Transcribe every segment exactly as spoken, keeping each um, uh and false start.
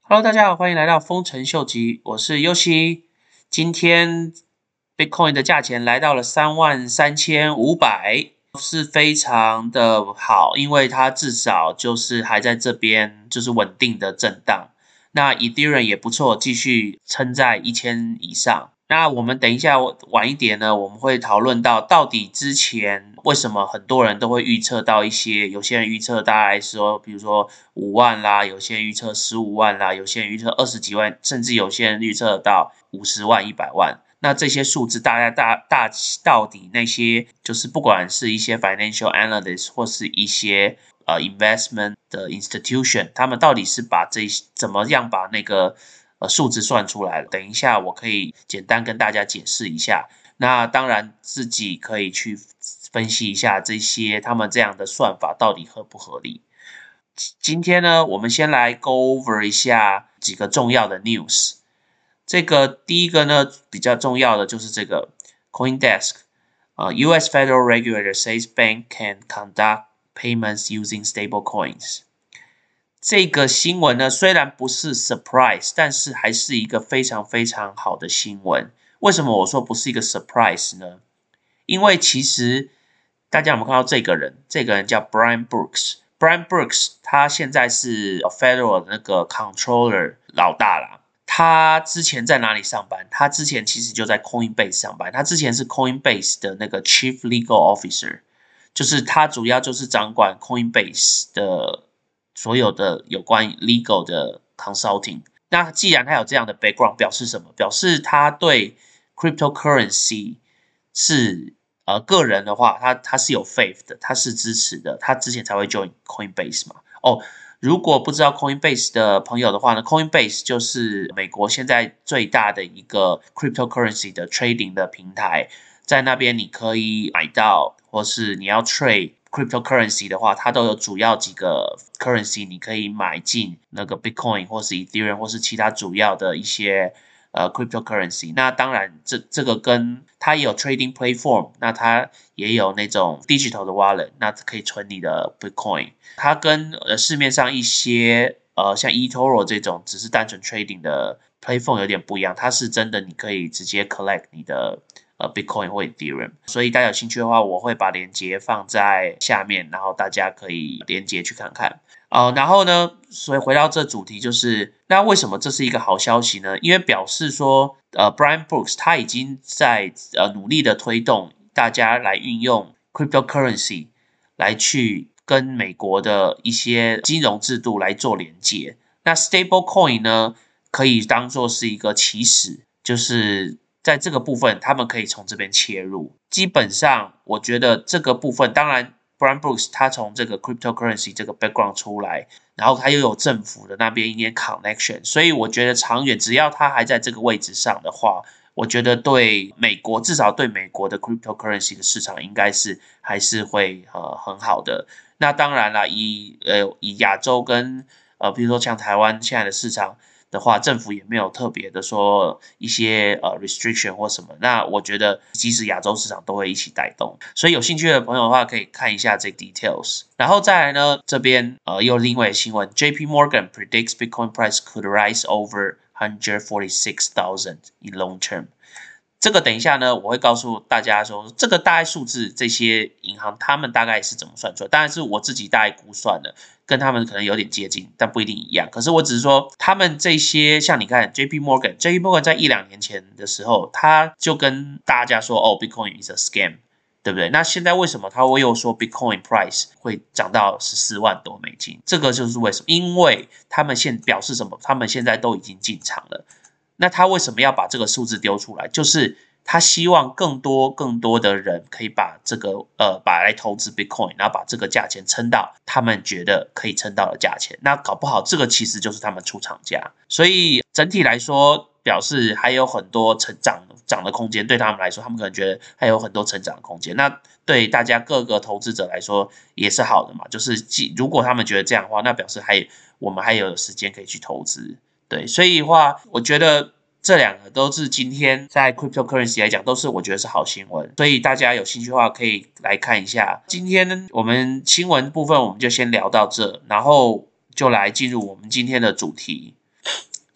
Hello， 大家好，欢迎来到丰臣秀吉，我是优西。今天 Bitcoin 的价钱来到了三万三千五百，是非常的好，因为它至少就是还在这边就是稳定的震荡。那 Ethereum 也不错，继续撑在一千以上。那我们等一下晚一点呢，我们会讨论到到底之前为什么很多人都会预测到一些，有些人预测大概说，比如说五万啦，有些人预测十五万啦，有些人预测二十几万，甚至有些人预测到五十万、一百万。那这些数字大概大大到底那些就是不管是一些 financial analyst 或是一些呃 investment 的 institution， 他们到底是把这怎么样把那个呃数字算出来了？等一下我可以简单跟大家解释一下。那当然自己可以去分析一下这些他们这样的算法到底合不合理。今天呢，我们先来 go over 一下几个重要的 news。这个第一个呢，比较重要的就是这个 CoinDesk， 呃 U S Federal Regulator says bank can conduct payments using stable coins。这个新闻呢，虽然不是 surprise， 但是还是一个非常非常好的新闻。为什么我说不是一个 surprise 呢？因为其实大家有没有看到这个人？这个人叫 Brian Brooks。Brian Brooks 他现在是 Federal 的那个 Controller 老大啦。他之前在哪里上班？他之前其实就在 Coinbase 上班。他之前是 Coinbase 的那个 Chief Legal Officer， 就是他主要就是掌管 Coinbase 的所有的有关 legal 的 consulting。那既然他有这样的 background， 表示什么？表示他对 cryptocurrency 是呃个人的话，他他是有 faith 的，他是支持的，他之前才会 join Coinbase 嘛。哦。如果不知道 Coinbase 的朋友的话呢 ，Coinbase 就是美国现在最大的一个 cryptocurrency 的 trading 的平台，在那边你可以买到，或是你要 trade cryptocurrency 的话，它都有主要几个 currency 你可以买进那个 Bitcoin 或是 Ethereum 或是其他主要的一些呃 cryptocurrency。那当然这这个跟它也有 trading platform， 那它也有那种 digital 的 wallet， 那可以存你的 Bitcoin。它跟呃市面上一些呃像 eToro 这种只是单纯 trading 的 platform 有点不一样，它是真的你可以直接 collect 你的呃 Bitcoin 或 Ethereum。所以大家有兴趣的话，我会把链接放在下面，然后大家可以连接去看看。呃，然后呢，所以回到这主题就是，那为什么这是一个好消息呢？因为表示说，呃 ，Brian Brooks 他已经在呃努力的推动大家来运用 cryptocurrency 来去跟美国的一些金融制度来做连接。那 stable coin 呢，可以当做是一个起始，就是在这个部分他们可以从这边切入。基本上，我觉得这个部分当然。Brian Brooks 他从这个 cryptocurrency 这个 background 出来，然后他又有政府的那边一点 connection， 所以我觉得长远只要他还在这个位置上的话，我觉得对美国至少对美国的 cryptocurrency 的市场应该是还是会呃很好的。那当然啦，以呃以亚洲跟呃比如说像台湾现在的市场的话，政府也没有特别的说一些呃 restriction 或什么，那我觉得即使亚洲市场都会一起带动，所以有兴趣的朋友的话可以看一下这 details。然后再来呢，这边呃又另外的新闻 ，J P Morgan predicts Bitcoin price could rise over one hundred forty-six thousand in long term。这个等一下呢，我会告诉大家说，这个大概数字，这些银行他们大概是怎么算出来，当然是我自己大概估算的，跟他们可能有点接近，但不一定一样。可是我只是说，他们这些像你看 J P Morgan，J P Morgan 在一两年前的时候，他就跟大家说，哦 ，Bitcoin is a scam， 对不对？那现在为什么他会又说 Bitcoin price 会涨到十四万多美金？这个就是为什么？因为他们现表示什么？他们现在都已经进场了。那他为什么要把这个数字丢出来？就是他希望更多更多的人可以把这个呃把来投资 Bitcoin， 然后把这个价钱撑到他们觉得可以撑到的价钱。那搞不好这个其实就是他们出厂价。所以整体来说，表示还有很多成长涨的空间。对他们来说，他们可能觉得还有很多成长的空间。那对大家各个投资者来说也是好的嘛。就是如果他们觉得这样的话，那表示还我们还有时间可以去投资。对，所以的话，我觉得这两个都是今天在 cryptocurrency 来讲，都是我觉得是好新闻，所以大家有兴趣的话可以来看一下。今天我们新闻部分我们就先聊到这，然后就来进入我们今天的主题。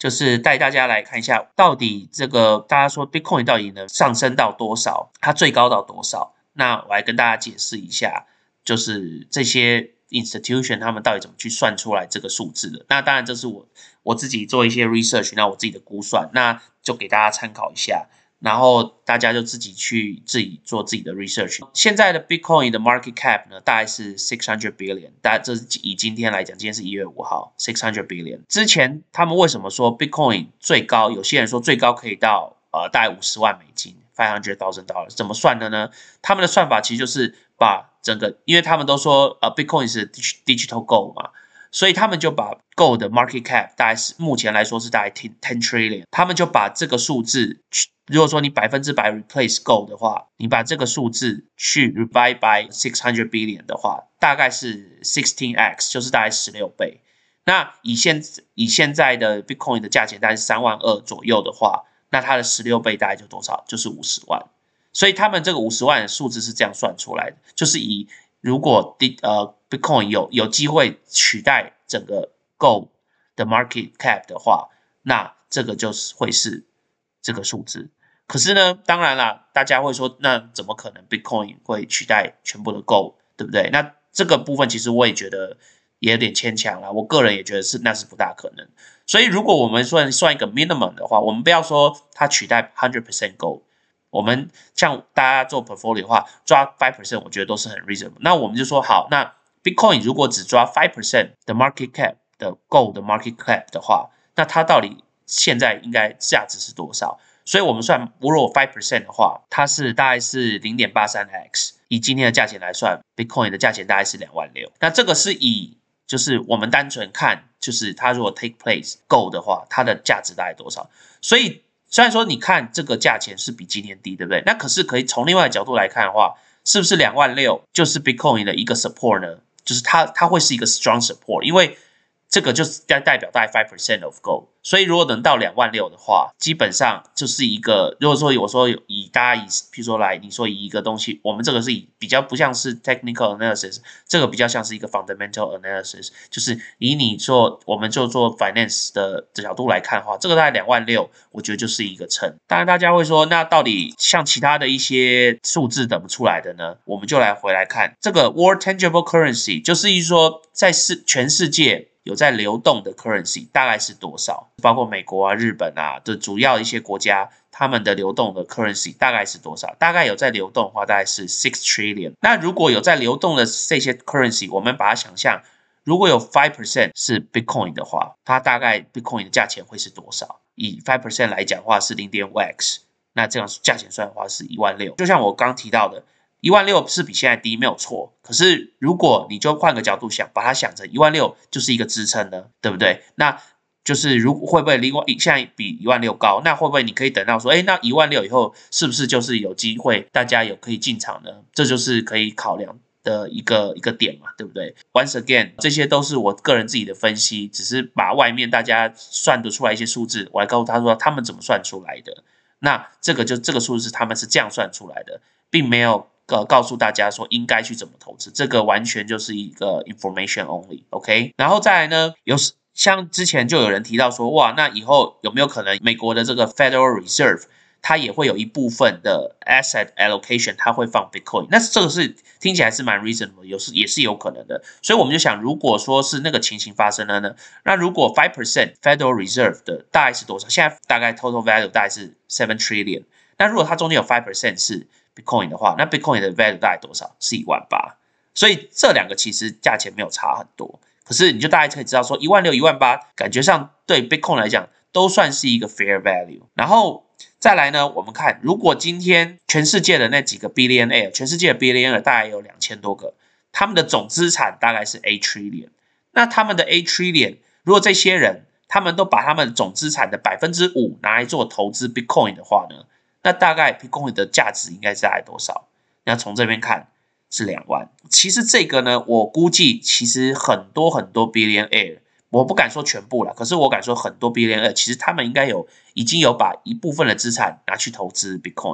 就是带大家来看一下，到底这个大家说 Bitcoin 到底能上升到多少，它最高到多少？那我来跟大家解释一下，就是这些 institution 他们到底怎么去算出来这个数字的。那当然这是我我自己做一些 research， 那我自己的估算，那就给大家参考一下。然后大家就自己去自己做自己的 research。现在的 Bitcoin 的 market cap 呢，大概是 six hundred billion， 大家这是以今天来讲，今天是一月五号 ，six hundred billion。之前他们为什么说 Bitcoin 最高？有些人说最高可以到呃大概五十万美金 ，five hundred thousand dollars， 怎么算的呢？他们的算法其实就是把整个，因为他们都说呃 Bitcoin 是 digital gold 嘛。所以他们就把 Gold 的 market cap 大概是目前来说是大概 ten trillion， 他们就把这个数字，如果说你百分之百 replace Gold 的话，你把这个数字去 divide by six hundred billion 的话，大概是 sixteen x， 就是大概十六倍。那以现以现在的 Bitcoin 的价钱大概是三万二左右的话，那它的十六倍大概就多少？就是五十万。所以他们这个五十万的数字是这样算出来的，就是以如果呃 Bitcoin 有有机会取代整个 Gold 的 market cap 的话，那这个就是会是这个数字。可是呢，当然啦，大家会说，那怎么可能 Bitcoin 会取代全部的 Gold， 对不对？那这个部分其实我也觉得也有点牵强啦，我个人也觉得是那是不大可能。所以如果我们算算一个 minimum 的话，我们不要说它取代 one hundred percent Gold。我们像大家做 portfolio 的话，抓 five percent 我觉得都是很 reasonable。那我们就说好，那 Bitcoin 如果只抓 five percent 的 market cap 的 Gold 的 market cap 的话，那它到底现在应该价值是多少？所以我们算，如果 five percent 的话，它是大概是 零点八三 x， 以今天的价钱来算 ，Bitcoin 的价钱大概是两万六。那这个是以就是我们单纯看，就是它如果 take place Gold 的话，它的价值大概多少？所以虽然说你看这个价钱是比今天低，对不对？那可是可以从另外的角度来看的话，是不是两万六就是 Bitcoin 的一个 support 呢？就是它它会是一个 strong support， 因为这个就是代代表大概 five percent of gold， 所以如果能到两万六的话，基本上就是一个，如果说我说以大家以，譬如说来，你说以一个东西，我们这个是以比较不像是 technical analysis， 这个比较像是一个 fundamental analysis， 就是以你做我们就做 finance 的角度来看的话，这个大概两万六，我觉得就是一个撑。当然大家会说，那到底像其他的一些数字怎么出来的呢？我们就来回来看这个 world tangible currency， 就是说在世全世界有在流动的 currency 大概是多少？包括美国啊、日本啊的主要一些国家，他们的流动的 currency 大概是多少？大概有在流动的话，大概是 six trillion。那如果有在流动的这些 currency， 我们把它想象，如果有 five percent 是 Bitcoin 的话，它大概 Bitcoin 的价钱会是多少？以 five percent 来讲的话是 零点五 x， 那这样价钱算的话是一万六。就像我刚提到的，一万六是比现在低没有错，可是如果你就换个角度想，把它想成一万六就是一个支撑呢，对不对？那就是如会不会另外现在比一万六高？那会不会你可以等到说，哎，那一万六以后是不是就是有机会大家有可以进场呢？这就是可以考量的一个一个点嘛，对不对 ？Once again， 这些都是我个人自己的分析，只是把外面大家算得出来一些数字，我来告诉他说他们怎么算出来的。那这个就这个数字他们是这样算出来的，并没有呃告诉大家说应该去怎么投资，这个完全就是一个 information only，OK？ 然后再来呢，有像之前就有人提到说，哇，那以后有没有可能美国的这个 Federal Reserve 它也会有一部分的 asset allocation， 它会放 Bitcoin， 那这个是听起来是蛮 reasonable， 有是也是有可能的。所以我们就想，如果说是那个情形发生了呢，那如果 five percent Federal Reserve 的大概是多少？现在大概 total value 大概是 seven trillion， 那如果它中间有 five percent 是 Bitcoin 的话，那 Bitcoin 的 value 大概多少？是一万八。所以这两个其实价钱没有差很多，可是你就大概可以知道说，一万六、一万八，感觉上对 Bitcoin 来讲都算是一个 fair value。然后再来呢，我们看，如果今天全世界的那几个 billionaire， 全世界的 billionaire 大概有两千多个，他们的总资产大概是 eight trillion。那他们的 eight trillion， 如果这些人他们都把他们总资产的 百分之五 拿来做投资 Bitcoin 的话呢，那大概 Bitcoin 的价值应该是大概多少？那从这边看是两万。其实这个呢，我估计其实很多很多 billionaire， 我不敢说全部啦，可是我敢说很多 billionaire， 其实他们应该有已经有把一部分的资产拿去投资 Bitcoin 了。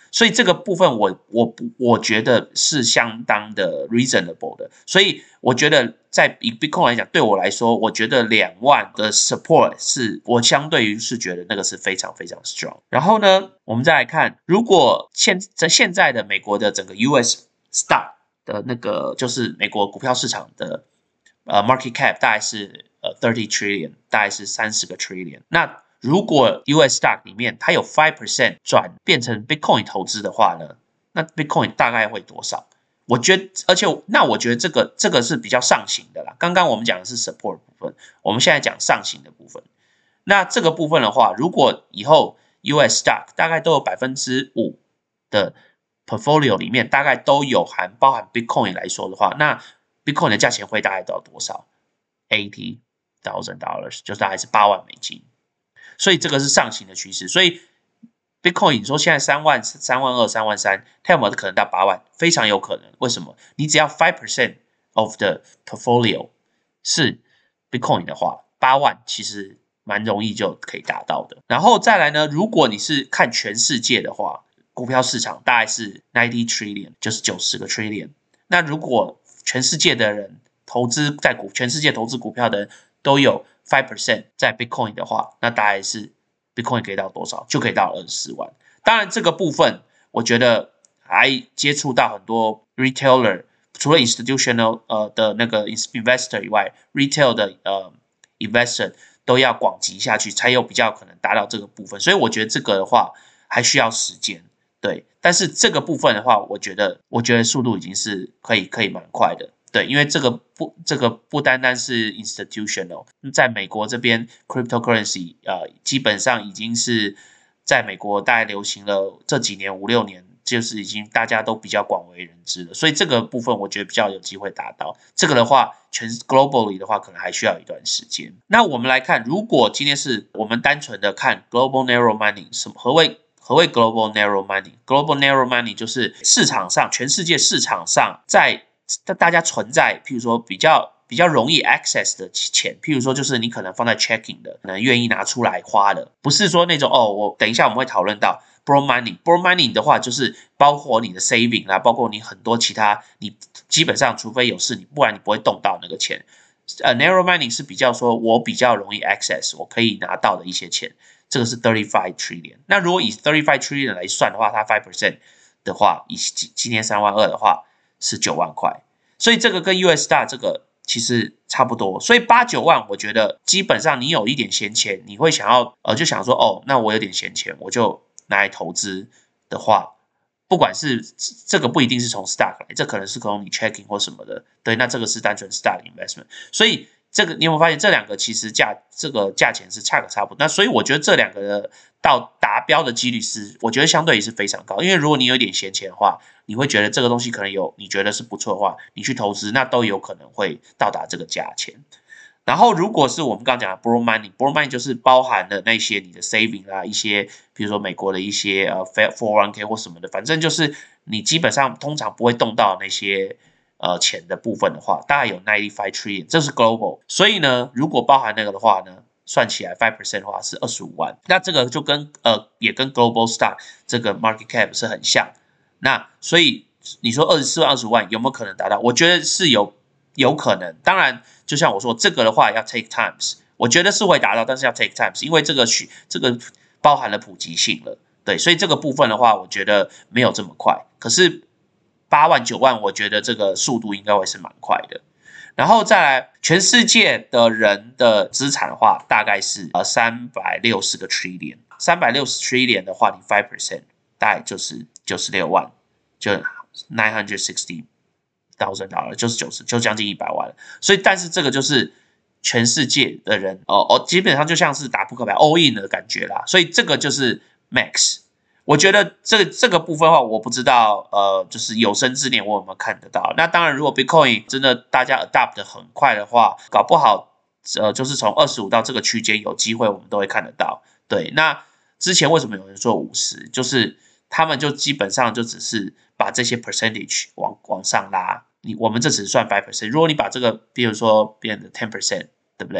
所以这个部分我我我觉得是相当的 reasonable 的，所以我觉得在以 Bitcoin 来讲，对我来说，我觉得两万的 support 是我相对于是觉得那个是非常非常 strong。然后呢，我们再来看，如果现在现在的美国的整个 U S stock 的那个就是美国股票市场的呃 market cap 大概是呃三十 trillion， 大概是三十个 trillion。那如果 U S stock 里面它有 百分之五 转变成 Bitcoin 投资的话呢，那 Bitcoin 大概会多少？我觉得，而且那我觉得这个这个是比较上行的啦。刚刚我们讲的是 support 部分，我们现在讲上行的部分。那这个部分的话，如果以后 U S stock 大概都有 百分之五 的 portfolio 里面大概都有含包含 Bitcoin 来说的话，那 Bitcoin 的价钱会大概到多少 ？eighty thousand dollars 就大概是八万美金。所以这个是上行的趋势，所以 Bitcoin 你说现在三万、三万二、三万三，它有没有可能到八万？非常有可能。为什么？你只要 百分之五 of the portfolio 是 Bitcoin 的话，八万其实蛮容易就可以达到的。然后再来呢，如果你是看全世界的话，股票市场大概是 ninety trillion， 就是九十个 trillion。那如果全世界的人投资在股，全世界投资股票的人都有百分之五 在 Bitcoin 的话，那大概是 Bitcoin 可以到多少？就可以到二十四万。当然，这个部分我觉得还接触到很多 retailer， 除了 institutional 呃的那个 investor 以外 ，retail 的呃 investor 都要广集下去，才有比较可能达到这个部分。所以我觉得这个的话还需要时间，对。但是这个部分的话，我觉得我觉得速度已经是可以可以蛮快的。对，因为这个不，这个不单单是 institutional， 在美国这边 cryptocurrency 呃，基本上已经是在美国大概流行了这几年五六年，就是已经大家都比较广为人知了，所以这个部分我觉得比较有机会达到。这个的话，全 globally 的话，可能还需要一段时间。那我们来看，如果今天是我们单纯的看 global narrow money， 什么何谓？何谓 global narrow money？global narrow money 就是市场上，全世界市场上在大家存在，譬如说比较比较容易 access 的钱，譬如说就是你可能放在 checking 的，可能愿意拿出来花的，不是说那种哦，我等一下我们会讨论到 borrow money，borrow money 的话就是包括你的 saving 啦，包括你很多其他，你基本上除非有事，你不然你不会动到那个钱。呃、uh, ，narrow money 是比较说我比较容易 access， 我可以拿到的一些钱，这个是三十五 trillion。那如果以三十五 trillion 来算的话，它 百分之五 的话，以今年三万二的话。是九万块，所以这个跟 U S stock 这个其实差不多，所以八九万，我觉得基本上你有一点闲钱，你会想要呃就想说哦，那我有点闲钱，我就拿来投资的话，不管是这个不一定是从 stock 来，这可能是从你 checking 或什么的，对，那这个是单纯 stock investment， 所以这个你有没有发现这两个其实价这个价钱是差个差不多，那所以我觉得这两个的到达标的几率是，我觉得相对也是非常高，因为如果你有一点闲钱的话，你会觉得这个东西可能有你觉得是不错的话，你去投资那都有可能会到达这个价钱。然后如果是我们刚刚讲的 borrow money，borrow money 就是包含了那些你的 saving 啦，一些比如说美国的一些呃 四零一 k 或什么的，反正就是你基本上通常不会动到那些。呃，钱的部分的话，大概有 ninety-five trillion， 这是 global。所以呢，如果包含那个的话呢，算起来 百分之五 的话是二十五万。那这个就跟呃，也跟 global stock 这个 market cap 是很像。那所以你说二十四万、二十五万有没有可能达到？我觉得是有有可能。当然，就像我说，这个的话要 take times， 我觉得是会达到，但是要 take times， 因为这个需这个包含了普及性了。对，所以这个部分的话，我觉得没有这么快。可是。八万九万，我觉得这个速度应该会是蛮快的。然后再来，全世界的人的资产的话，大概是呃三百六十个 trillion， 三百六十 trillion 的话，你 百分之五 大概就是九十六万，就 nine hundred sixty thousand dollars， 就是九十，就将近一百万了。所以，但是这个就是全世界的人哦哦，基本上就像是打扑克牌 all in 的感觉啦。所以这个就是 max。我觉得这这个部分的话，我不知道，呃，就是有生之年我有没有看得到。那当然，如果 Bitcoin 真的大家 adapt 的很快的话，搞不好，呃，就是从二十五到这个区间有机会，我们都会看得到。对，那之前为什么有人说五十？就是他们就基本上就只是把这些 percentage 往往上拉。你我们这只算 百分之五，如果你把这个，比如说变成 百分之十，对不对？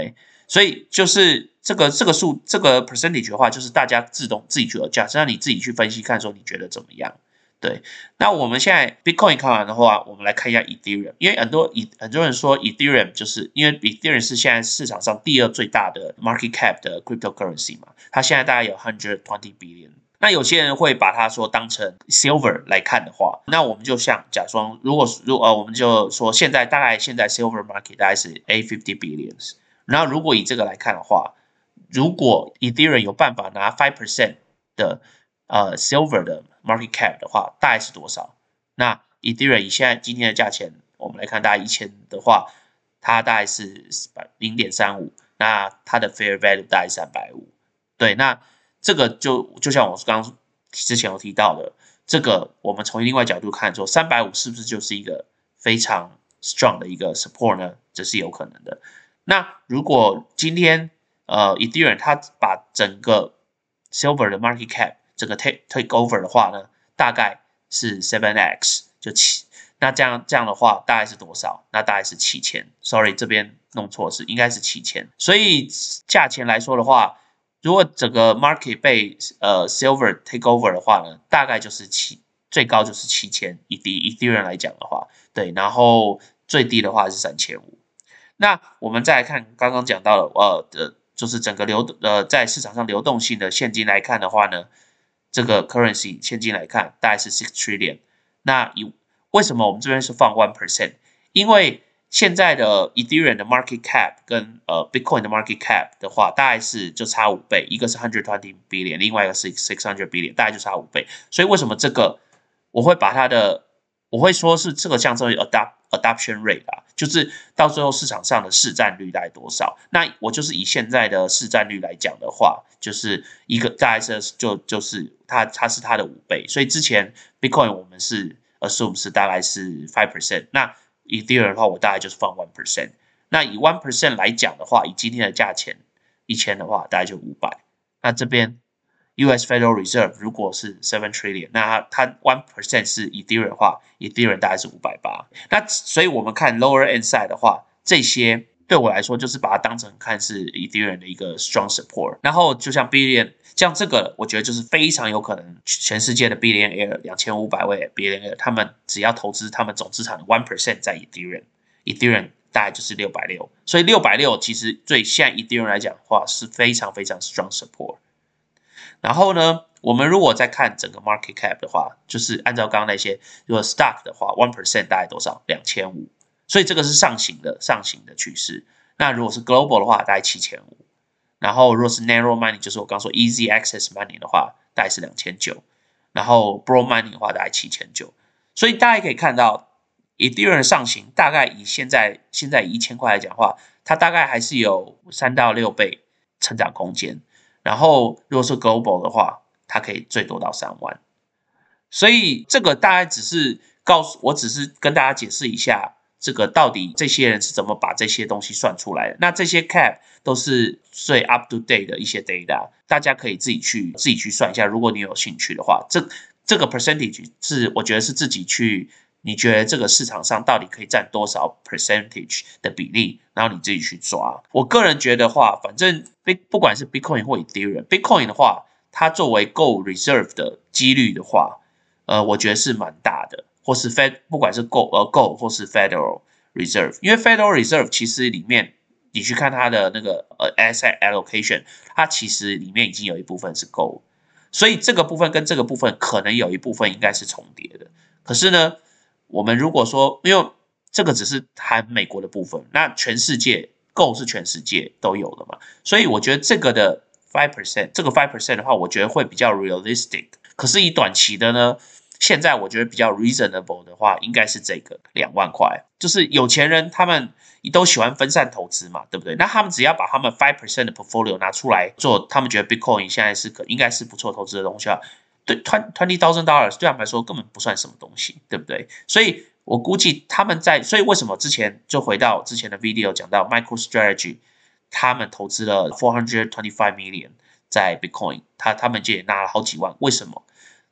所以就是这个这个数这个 percentage 的话，就是大家自动自己去 adjust， 让你自己去分析看说你觉得怎么样。对，那我们现在 Bitcoin 看完的话，我们来看一下 Ethereum， 因为很多很多人说 Ethereum 就是因为 Ethereum 是现在市场上第二最大的 market cap 的 cryptocurrency 嘛，它现在大概有 one hundred twenty billion。那有些人会把它说当成 silver 来看的话，那我们就像假装，如果如呃，我们就说现在大概现在 silver market 大概是 eight hundred fifty billions。然后如果以这个来看的话，如果 Ethereum 有办法拿 five percent 的呃 silver 的 market cap 的话，大概是多少？那 Ethereum 以现在今天的价钱，我们来看大概一千的话，它大概是 零点三五， 那它的 fair value 大概是三百五十。对，那这个就就像我刚刚之前有提到的，这个我们从另外角度看说，三百五十是不是就是一个非常 strong 的一个 support 呢？这是有可能的。那如果今天呃 Ethereum 它把整个 silver 的 market cap 整个 take take over 的话呢，大概是 seven x 就七，那这样这样的话大概是多少？那大概是七千。Sorry， 这边弄错是应该是七千。所以价钱来说的话，如果整个 market 被呃 silver take over 的话呢，大概就是七，最高就是七千，以 Ethereum 来讲的话，对，然后最低的话是三千五。那我们再来看刚刚讲到的，呃的，就是整个流呃在市场上流动性的现金来看的话呢，这个 currency 现金来看大概是 six trillion。那以为什么我们这边是放 one percent？ 因为现在的 Ethereum 的 market cap 跟呃 Bitcoin 的 market cap 的话，大概是就差五倍，一个是 one hundred twenty billion， 另外一个是six hundred billion， 大概就差五倍。所以为什么这个我会把它的我会说是这个像这个 adapt adoption rate 啊，就是到最后市场上的市占率大概多少？那我就是以现在的市占率来讲的话，就是一个大概是就就是它它是它的五倍，所以之前 Bitcoin 我们是 assume 是大概是 five percent， 那 Ethereum 的话我大概就是放 one percent。那以 one percent 来讲的话，以今天的价钱一千的话，大概就五百。那这边 U S Federal Reserve 如果是 seven trillion， 那它 one percent 是 Ethereum 的话 ，Ethereum 大概是五百八十。那所以我们看 lower end side 的话，这些对我来说就是把它当成看是 Ethereum 的一个 strong support。然后就像 billion， 像这个我觉得就是非常有可能全世界的 billionaire 两千五百位 billionaire， 他们只要投资他们总资产的 one percent 在 Ethereum，Ethereum 大概就是六百六十，所以六百六十其实对现在 Ethereum 来讲的话是非常非常 strong support。然后呢，我们如果再看整个 market cap 的话，就是按照刚刚那些，如果 stock 的话 one percent 大概多少？两千五百，所以这个是上行的上行的趋势。那如果是 global 的话，大概七千五百，然后如果是 narrow mining， 就是我刚说 easy access mining 的话，大概是两千九百，然后 broad mining 的话大概七千九百。所以大家可以看到 Ethereum 的上行大概以现在现在以一千块来讲的话，它大概还是有三到六倍成长空间。然后如果是 global 的话，它可以最多到三万。所以这个大概只是告诉我，只是跟大家解释一下，这个到底这些人是怎么把这些东西算出来的。那这些 cap 都是最 up to date 的一些 data， 大家可以自己去自己去算一下。如果你有兴趣的话，这这个 percentage 是我觉得是自己去。你觉得这个市场上到底可以占多少 percentage 的比例，然后你自己去抓。我个人觉得话，反正不管是 Bitcoin 或 Ethereum，Bitcoin 的话，它作为 Gold Reserve 的几率的话，呃，我觉得是蛮大的，或是 Fed 不管是 Gold 呃 Gold 或是 Federal Reserve， 因为 Federal Reserve 其实里面你去看它的那个呃 asset allocation， 它其实里面已经有一部分是 Gold， 所以这个部分跟这个部分可能有一部分应该是重叠的。可是呢，我们如果说，因为这个只是含美国的部分，那全世界 Go 是全世界都有的嘛，所以我觉得这个的 five percent， 这个 five percent 的话，我觉得会比较 realistic。可是以短期的呢，现在我觉得比较 reasonable 的话，应该是这个两万块，就是有钱人他们都喜欢分散投资嘛，对不对？那他们只要把他们 five percent 的 portfolio 拿出来做，他们觉得 Bitcoin 现在是可应该是不错投资的东西啊。对 twenty thousand dollars 对他们来说根本不算什么东西，对不对？所以我估计他们在，所以为什么之前就回到之前的 video 讲到 MicroStrategy， 他们投资了 four hundred twenty-five million 在 Bitcoin， 他他们就也拿了好几万，为什么？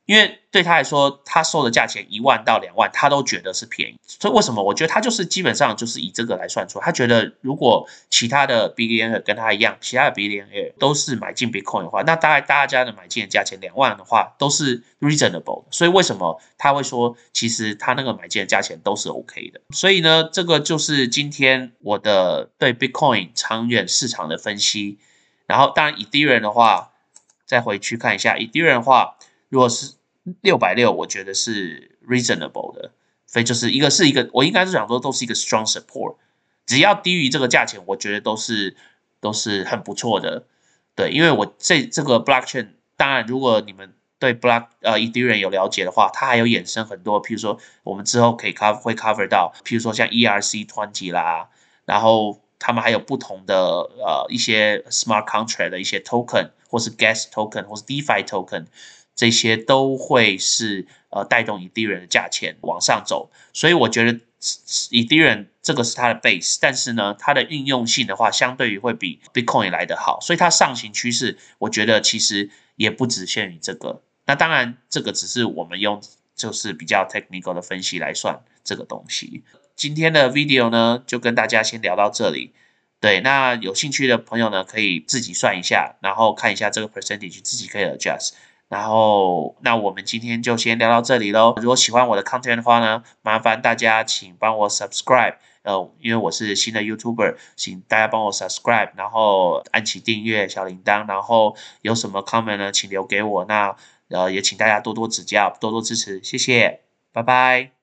因为对他来说，他收的价钱一万到两万，他都觉得是便宜。所以为什么？我觉得他就是基本上就是以这个来算出，他觉得如果其他的 billionaire 跟他一样，其他的 billionaire 都是买进 Bitcoin 的话，那大概大家的买进的价钱两万的话，都是 reasonable 的。所以为什么他会说，其实他那个买进的价钱都是 OK 的？所以呢，这个就是今天我的对 Bitcoin 长远市场的分析。然后当然 Ethereum 的话，再回去看一下 Ethereum 的话，如果是六百六十，我觉得是 reasonable 的，所以就是一个是一个，我应该是想说都是一个 strong support， 只要低于这个价钱，我觉得都是都是很不错的。对，因为我这这个 blockchain， 当然如果你们对 block 呃 Ethereum 有了解的话，它还有衍生很多，譬如说我们之后可以 cover 会 cover 到，譬如说像 E R C 二十啦，然后他们还有不同的呃一些 smart contract 的一些 token， 或是 gas token， 或是 DeFi token。这些都会是呃带动 Ethereum 的价钱往上走，所以我觉得 Ethereum 这个是它的 base， 但是呢，它的应用性的话，相对于会比 Bitcoin 来得好，所以它上行趋势，我觉得其实也不只限于这个。那当然，这个只是我们用就是比较 technical 的分析来算这个东西。今天的 video 呢，就跟大家先聊到这里。对，那有兴趣的朋友呢，可以自己算一下，然后看一下这个 percentage， 自己可以 adjust。然后，那我们今天就先聊到这里喽。如果喜欢我的 content 的话呢，麻烦大家请帮我 subscribe， 呃，因为我是新的 YouTuber， 请大家帮我 subscribe， 然后按起订阅小铃铛，然后有什么 comment 呢，请留给我。那呃，也请大家多多指教，多多支持，谢谢，拜拜。